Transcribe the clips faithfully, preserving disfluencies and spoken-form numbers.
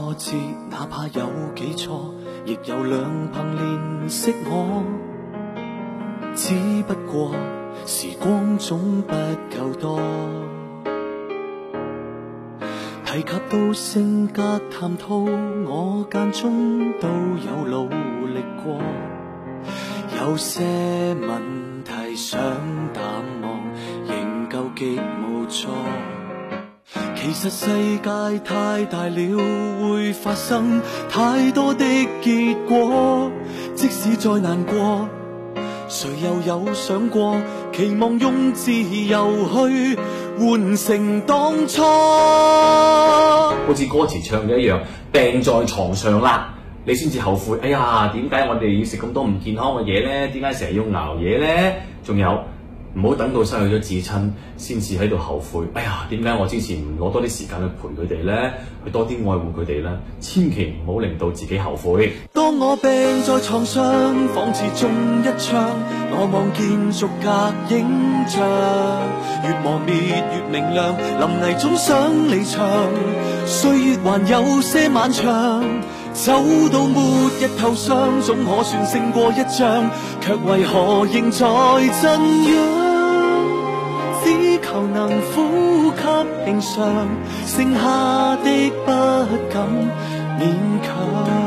挫折，哪怕有幾錯，亦有兩憑憐惜我。只不過時光總不夠多，提及到性格談吐，我間中都有努力過。有些問題想淡忘，仍舊極無助。其實世界太大了，會發生太多的結果。即使再難過，誰又有想過，期望用自由去換成當初。 好似歌詞唱嘅一樣，病在床上啦，你先至後悔。哎呀，點解我哋要食咁多唔健康嘅嘢呢？點解成日要熬夜呢？仲有，唔好等到失去咗至親先至喺度後悔。哎呀，點解我之前唔攞多啲時間去陪佢哋呢？去多啲愛護佢哋呢？千祈唔好令到自己後悔。 當我病在床上，仿似中一槍，我望見逐格影像，越磨滅越明亮，臨危總想離場，歲月還有些漫長，走到末日頭上，總可算勝過一仗，卻為何仍在震央？只求能呼吸平常，剩下的不敢勉強。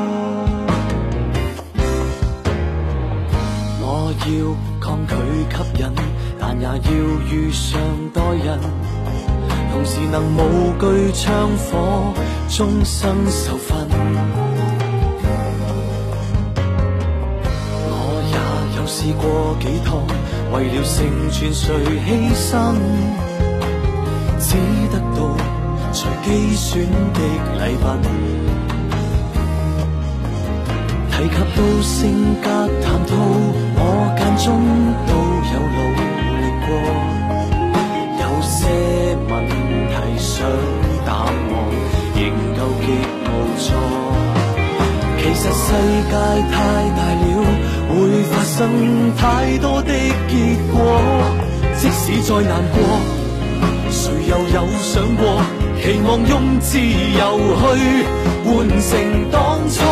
我要抗拒吸引，但也要遇上待人，同時能無懼槍火，終生受訓。我也有試過幾趟，為了成全誰犧牲，只得到隨機選的禮品。提及到性格談吐，我間中都有努力過。有些問題想淡忘，仍舊極無助。其實世界太大了，會發生太多的結果。即使再難過，誰又有想過，期望用自由去換成當初。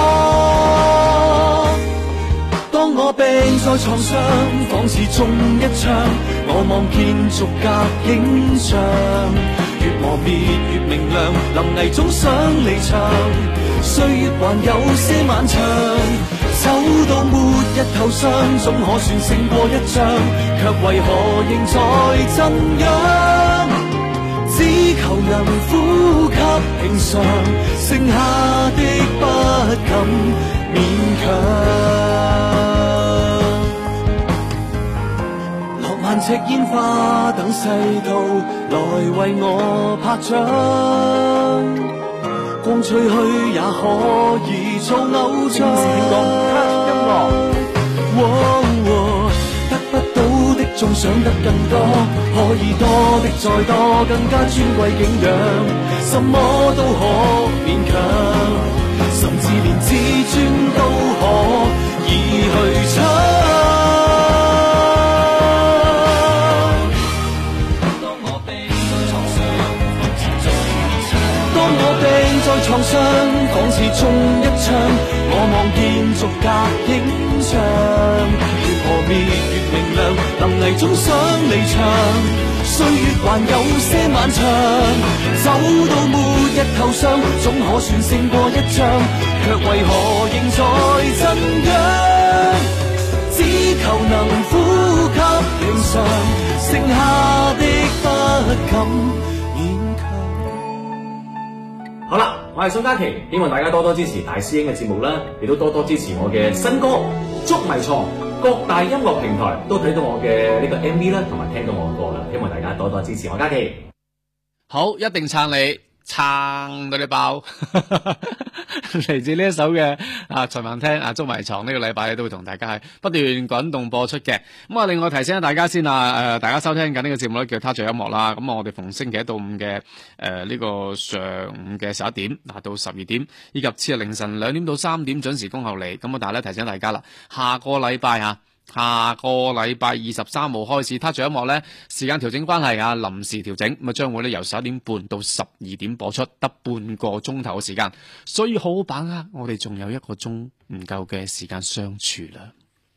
當我病在床上，仿似中一槍，我望見逐格影像，越磨滅越明亮，臨危總想離場，歲月還有些漫長，走到末日頭上，總可算勝過一仗，卻為何仍在震央？只求能呼吸平常，剩下的不敢勉強。落萬尺煙花等世道來為我拍掌，光吹去也可以做偶像。得不到的總想得更多，可以多的再多，更加尊貴景仰，什麼都可勉強，甚至連自尊都可以去搶。當我病在床上，當我病在床上，仿似中一槍，我望見逐格影像，越磨滅越明亮，臨危總想離場，歲月還有些漫長，走到末日頭上，總可算勝過一仗，卻為何仍在震央？只求能呼吸平常，剩下的不敢勉強。 好啦，我係宋嘉琪，希望大家多多支持大師兄嘅節目啦，亦都多多支持我嘅新歌《捉迷藏》。各大音樂平台都睇到我嘅呢個 M V 啦，同埋聽到我嘅歌啦，希望大家多多支持我嘉琪。 好，一定撐你，撐到你爆。嚟自呢一首嘅啊隨晚聽啊捉迷藏，呢個禮拜咧都會同大家係不斷滾動播出嘅。咁啊，另外提醒下大家先啊，誒、呃，大家收聽緊呢個節目咧叫他着音樂啦。咁啊，我哋逢星期一到五嘅誒呢個上午嘅十一點嗱到十二點，以及次日凌晨兩點到三點準時恭候你。咁啊，但係咧提醒大家啦，下個禮拜啊。 下個禮拜二十三號開始，他仲有一幕呢時間調整關係啊，臨時調整，咁啊將會呢由十一點半到十二點播出，得半個鐘頭嘅時間，所以好好把握，我哋仲有一個鐘唔夠嘅時間相處啦。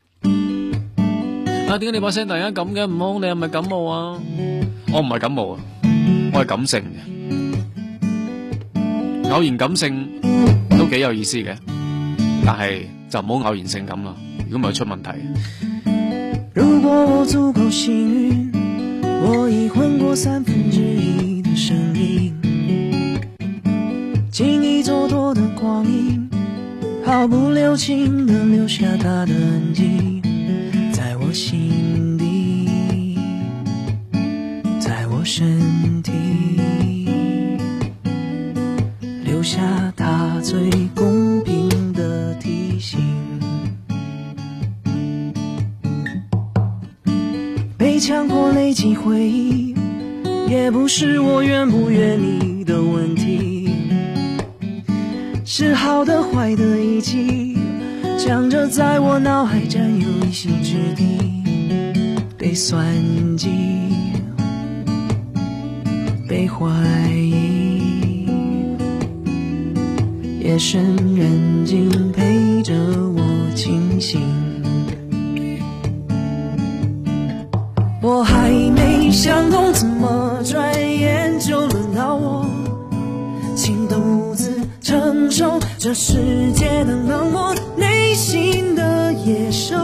啊，點解你把聲突然間咁嘅？唔好，你係咪感冒啊？我唔係感冒啊，我係感性嘅，偶然感性都幾有意思嘅，但係就唔好偶然性咁啦，如果唔係出問題。 如果我足夠幸運，我已混過三分之一的生命，經歷蹉跎的光陰，毫不留情地留下它的痕跡，在我心底，在我身體，留下它最公平的提醒。被強迫累積回憶，也不是我願不願意的問題，是好的壞的一起，強着在我腦海佔有一席之地，被算計，被懷疑，夜深人靜陪着我清醒。我還沒想通，怎麼轉眼就輪到我，請獨自承受這世界的冷漠，內心的野獸。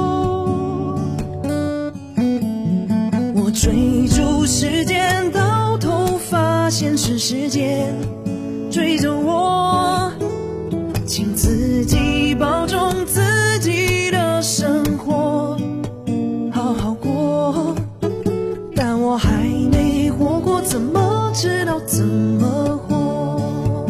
我追逐時間，到頭發現是時間追着我，請自己保重自己的生活，好好過。但我還沒活過，怎麼知道怎麼活？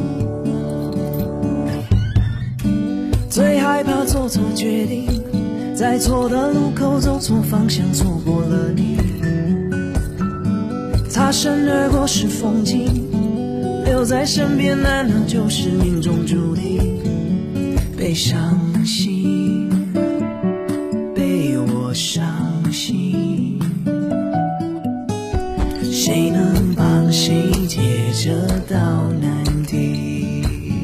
最害怕做錯決定，在錯的路口走錯方向，錯過了你。擦身而過是風景，留在身邊難道就是命中注定？被傷心，被我傷心，誰能幫誰解這道難題？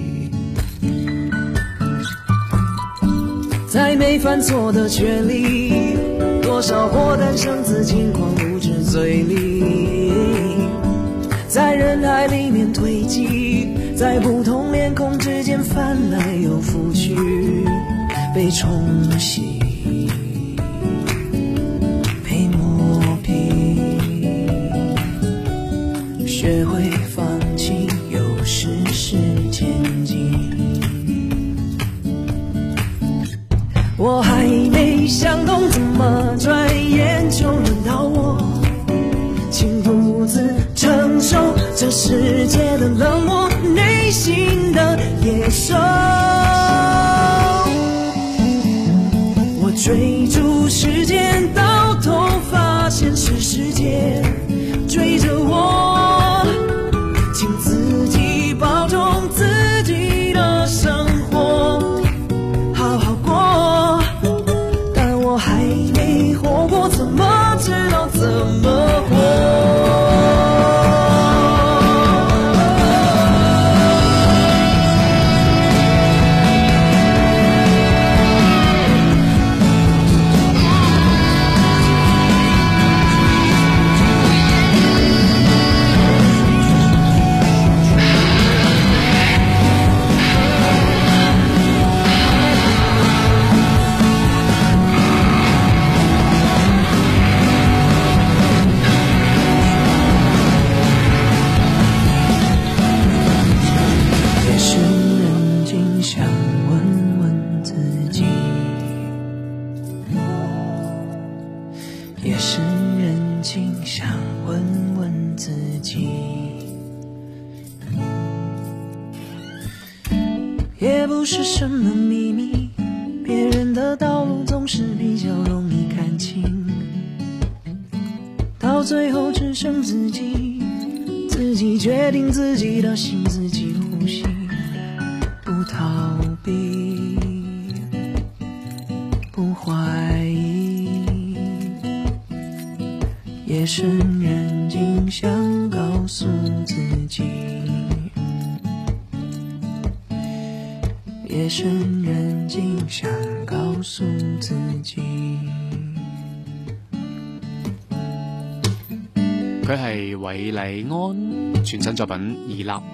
在沒犯錯的權利，多少禍誕生自輕狂無知嘴裡，在人海裡面堆積，在不同臉孔之間翻來又覆去，被沖洗，被磨平，學會放棄，有時是前進。我還沒想通，怎麼轉眼就輪到我，請獨自承受這世界的冷漠，內心的野獸。我追逐時間，到頭發現是時間追着我，請自己保重自己的生活，好好過。但我還沒活過，怎麼知道怎麼活？也是人情，想問問自己，也不是什麼秘密，別人的道路總是比較容易看清，到最後只剩自己，自己決定自己的心，自己呼吸，不逃避，不懷疑。 深人静想告诉自己，夜深人静想告诉自己。 佢係韋禮安全新作品《二立》。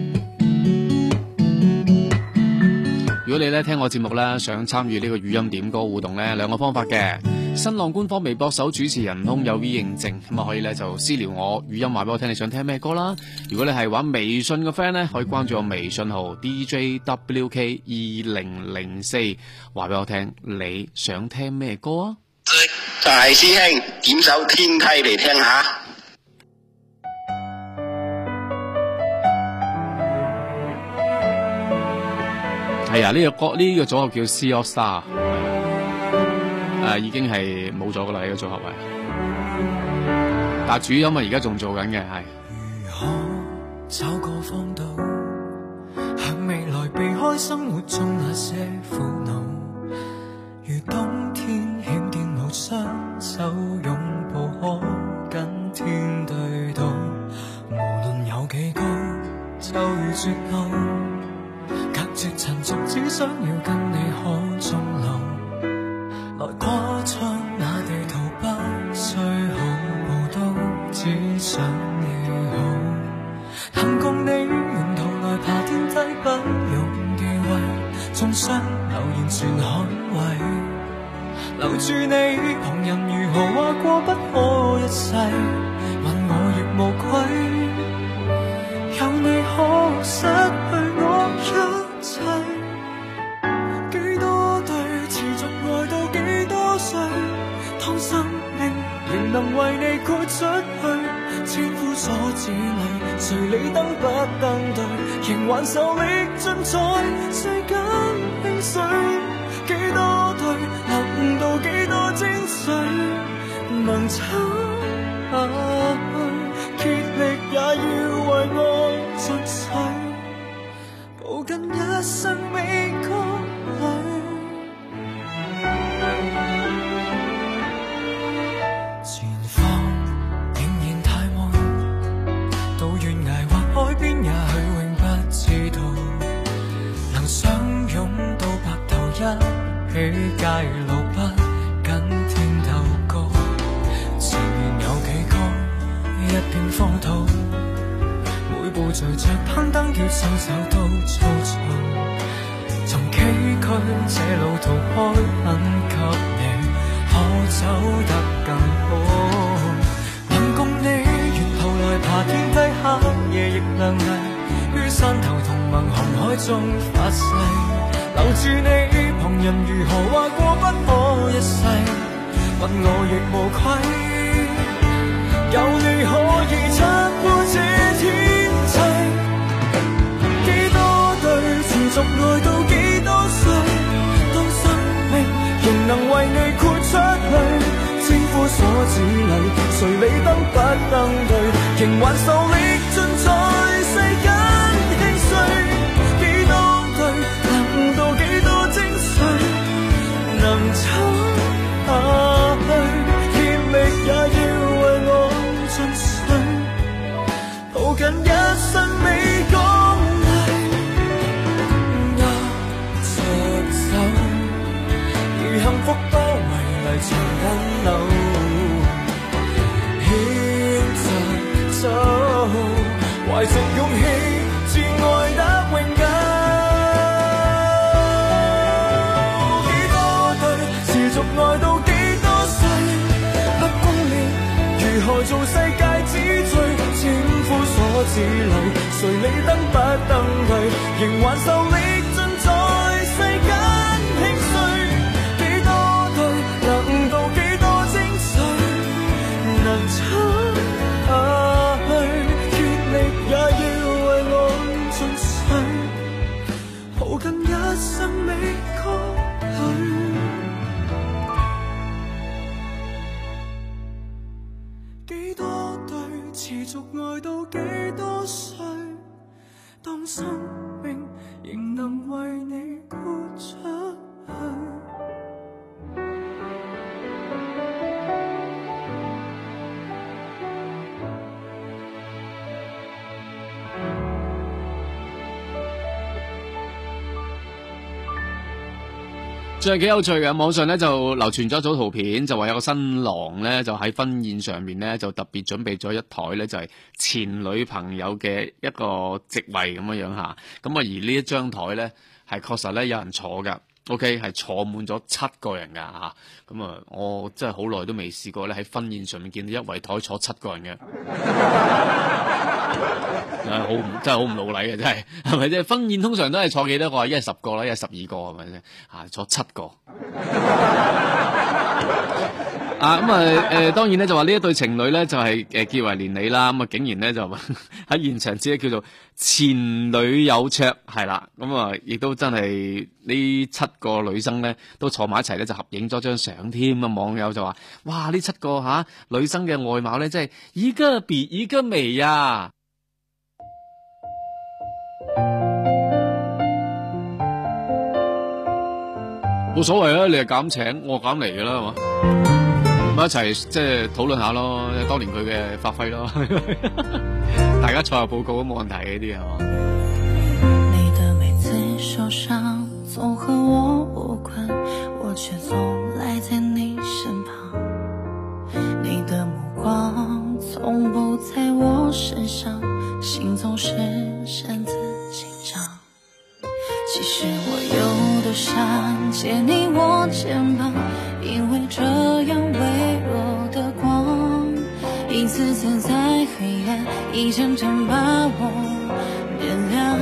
如果你咧聽我節目咧，想參與呢個語音點歌互動咧，兩個方法嘅。新浪官方微博搜主持人空有 V 認證，咁啊可以咧就私聊我語音話俾我聽你想聽咩歌啦。如果你係玩微信嘅 friend 咧，可以關注我微信號 D J W K 二零零四，話俾我聽你想聽咩歌啊？ 大師兄點首天梯嚟聽下。 係啊，呢、這個歌呢、這個組合叫 C All Star， 誒、呃、已經係冇咗噶啦呢個組合位，但係主音啊而家仲做緊嘅係。 如何找個方道，向未來避開生活中那些苦惱，如冬天險見無雙手擁抱可跟天對賭，無論有幾高就如絕路，隔絕塵俗，只想要跟你可終老。來跨出那地圖，不需好步都只想你好。幸共你沿途來爬天梯，不用忌諱，眾生留言全捍衛。留住你，旁人如何話過不可一世，問我亦無愧。有你可失去我一切，幾多對持續愛到幾多歲，當生命仍能為你豁出去，千夫所指裏，誰理登不登對，仍還受力盡在世間興衰，幾多對能到幾多精髓，能撐下去，竭力也要為愛盡瘁，抱緊一生美歌裏。前方仍然太悶，到懸崖或海邊也許永不知道，能相擁到白頭一起街路，不跟天鬥高，前面有幾高一片荒土，每步隨着攀登叫雙手都粗糙，從崎嶇這路途開很給你，可走得更好。能共你沿途來爬天梯，黑夜亦亮麗，於山頭同盟紅海中發誓，留住你，旁人如何話過不可一世，問我亦無愧。有你可以撐過這天際，幾多對持續愛到幾多歲，當生命仍能為你豁出去，千夫所指裏，誰理登不登對，仍還受力盡在世間興衰，幾多對能到幾多精髓，能撐下去，竭力也要為我盡瘁，抱緊一生美歌裏，握着手，如幸福包圍嚟長緊路，牽着手，懷着勇氣，至愛得永久。幾多對持續愛到幾多歲，不公了如何做世界之最，千夫所指裏，誰理登不登對，仍還受力盡在世間興衰，幾多對能到幾多精髓，能撐下去，竭力也要為我盡瘁，抱緊一生美歌裏。幾多對持續愛到幾多歲，當生命仍能為你豁出去。 仲係幾有趣嘅，網上咧就流傳咗一組圖片，就話有個新郎咧就喺婚宴上面咧就特別準備咗一台咧就係前女朋友嘅一個席位咁樣樣吓，咁啊而呢一張台咧係確實咧有人坐噶 ，OK 係坐滿咗七個人噶吓，咁啊我真係好耐都未試過咧喺婚宴上面見到一圍台坐七個人嘅。係好唔真係好唔老禮嘅，真係係咪啫？婚宴通常都係坐幾多個？一係十個啦，一係十二個係咪先？啊，坐七個啊咁啊誒，當然咧就話呢一對情侶咧就係誒結為連理啦，咁啊竟然咧就喺現場只叫做前女友桌係啦，咁啊亦都真係呢七個女生咧都坐埋一齊咧就合影咗張相添啊！網友就話：哇！呢七個吓、啊、女生嘅外貌咧真係一個比一個美呀、啊！冇所謂啊，你係減請，我減嚟嘅啦，係嘛？咁一齊即係討論下咯，當年佢嘅發揮咯，大家賽後報告都冇問題嘅呢啲係嘛？ 你的每次受傷總和我無關，我卻總賴在你身旁。你的目光從不在我身上，心總是擅自緊張。其實我有多想借你我肩膀，因為這樣微弱的光一次次在黑暗一陣陣把我點亮。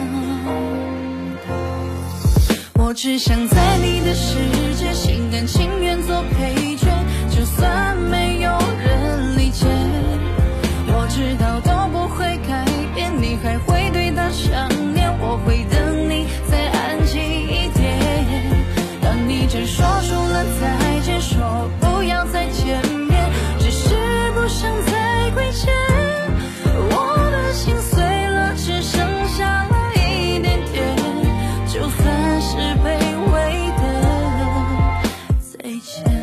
我只想在你的世界心甘情願做配角，就算沒有人理解，我知道都不會改變，你還會對他想念，我會等你再安靜一點。當你真說出了再見，說不要再見面，只是不想再虧欠，我的心碎了，只剩下了一點點，就算是卑微的再見。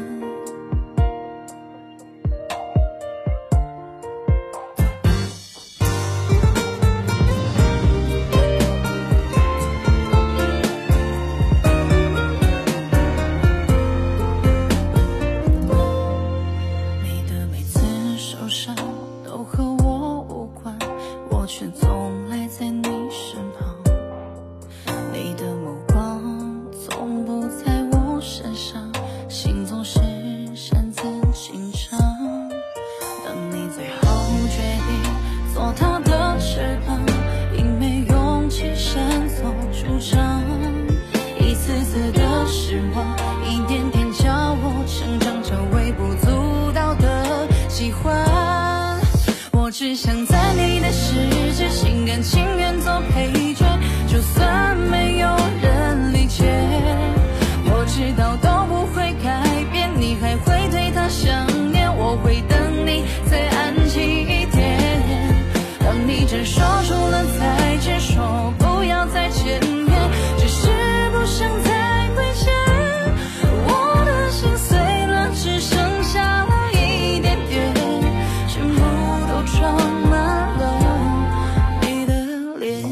只想在你的世界心甘情願做配角，就算沒有人理解，我知道都不會改變，你還會對他想念，我會等你再安靜一點。當你真說出了再見，說不要再見面，只是不想再虧欠，我的心碎了，只剩下了一點點，全部都裝滿了你的臉。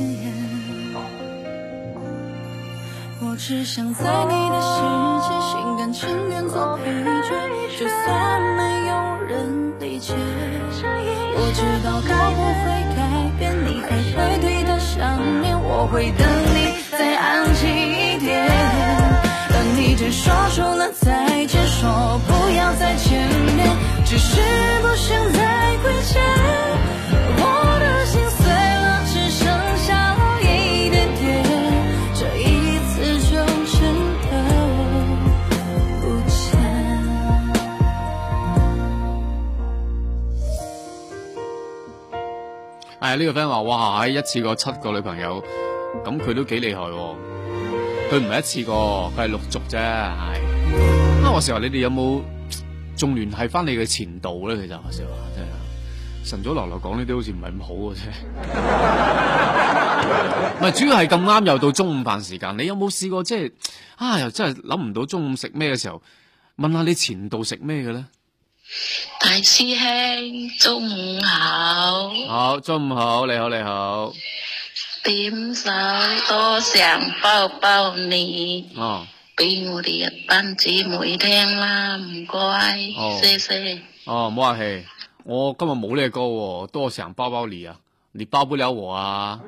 我只想在你的世界心甘情願做配角，就算沒有人理解，我知道都不會改變，你還會對他想念，我會等你再安靜一點。當你真說出了再見，說不要再見面，只是不想再虧欠，我的心碎了，只剩下了一點點，這一次就真的不見。 係呢個 friend 話：哇，一次過七個女朋友，咁佢都幾厲害喎。佢唔係一次過，佢係陸續啫。係啊，我時話你哋有冇仲聯繫翻你嘅前度咧？其實我時話真係晨早流流講呢啲好似唔係咁好嘅啫。唔係主要係咁啱又到中午飯時間，你有冇試過即係啊？又真係諗唔到中午食咩嘅時候，問下你前度食咩嘅咧？ 大師兄，中午好。 好，中午好，你好，你好。 點手多想抱抱你。 哦。 俾我哋一班姊妹聽啦，唔該， 哦謝謝。 哦，唔好客氣，我今日冇呢個歌喎，多想包包你啊，你包不了我啊，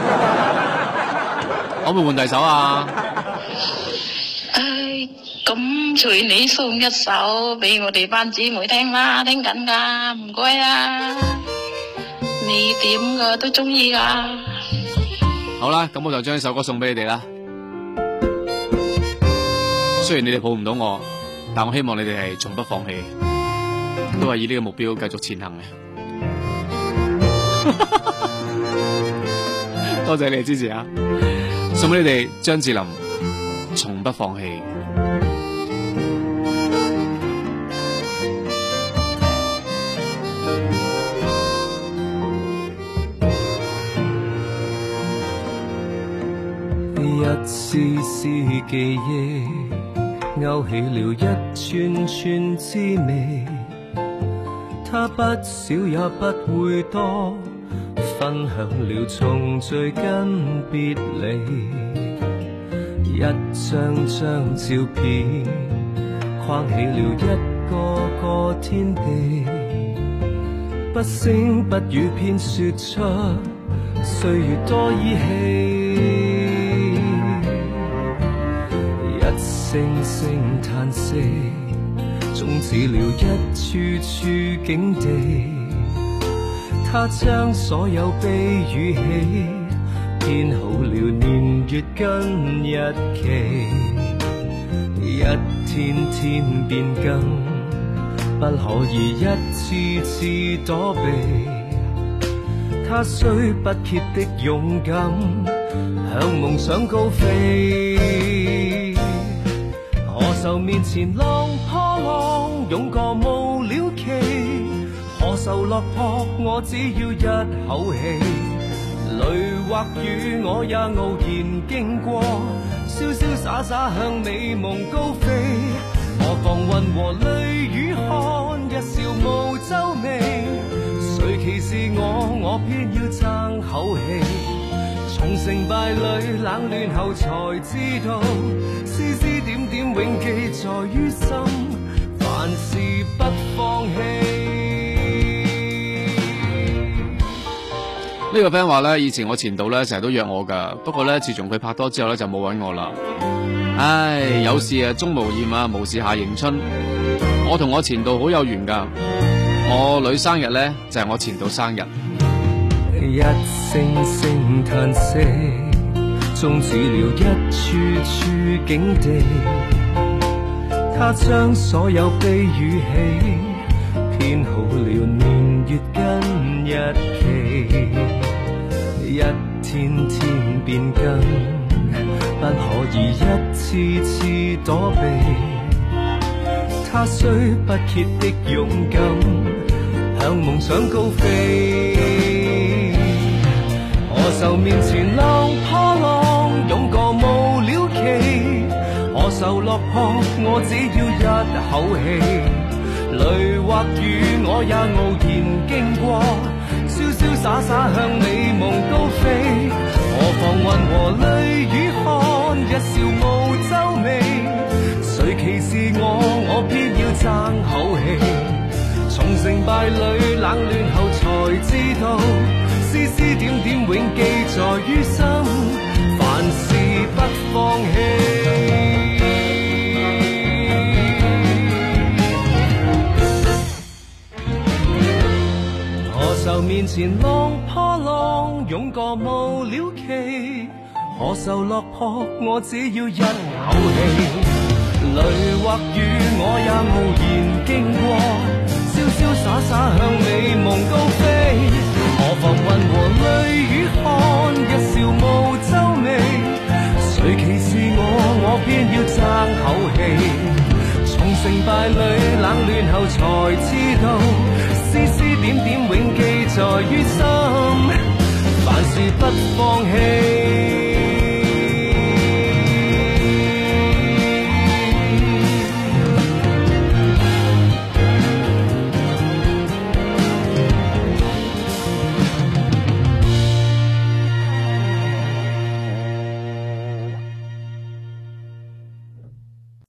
可唔可以換第首啊？ 唉，咁隨你送一首俾我哋班姊妹聽啦，聽緊噶，唔該啊，你點嘅都中意噶。 好啦，咁我就將呢首歌送俾你哋啦。雖然你哋抱唔到我，但我希望你哋係從不放棄，都係以呢個目標繼續前行嘅。多謝你哋支持啊！送俾你哋張智霖，從不放棄。 一絲絲記憶勾起了一串串滋味，它不少也不會多，分享了重聚跟別離，一張張照片框起了一個個天地，不聲不語偏說出歲月多依稀，一聲聲嘆息終止了一處處境地，他將所有悲與喜編好了年月跟日期，一天天變更，不可以一次次躲避，他雖不竭的勇敢向夢想高飛，何愁面前浪破浪湧過無了期，何愁落魄我只要一口氣，淚或雨我也傲然經過，瀟瀟灑灑向美夢高飛，何妨雲和淚雨看一笑無皺眉，誰歧視我我偏要爭口氣，從成敗裏冷暖後才知道，絲絲點點永記在於心，凡事不放棄。 呢個 friend 話咧，以前我前度咧成日都約我噶，不過咧自從佢拍拖之後咧就冇揾我啦。唉，有事啊終無厭啊，無事下迎春。我同我前度好有緣噶，我女生日咧就係、是、我前度生日。 一聲聲嘆息終止了一處處境地，他將所有悲與喜編好了年月跟日期，一天天變更，不可以一次次躲避，他雖不竭的勇敢向夢想高飛，何愁面前浪破浪湧過無了期，何愁落魄我只要一口氣，淚或雨我也傲然經過，瀟瀟灑灑向美夢高飛，何妨雲和淚雨看一笑無皺眉，誰歧視我我偏要爭口氣，從成敗裏冷暖後才知道，絲絲點點永記在於心，凡事不放棄。何愁面前浪破浪湧過無了期，何愁落魄我只要一口氣，淚或雨我也傲然經過，瀟瀟灑灑向美夢高飛，何妨雲和淚雨看一笑無皺眉，誰歧視我我偏要爭口氣，從成敗裏冷暖後才知道，絲絲點點永記在於心。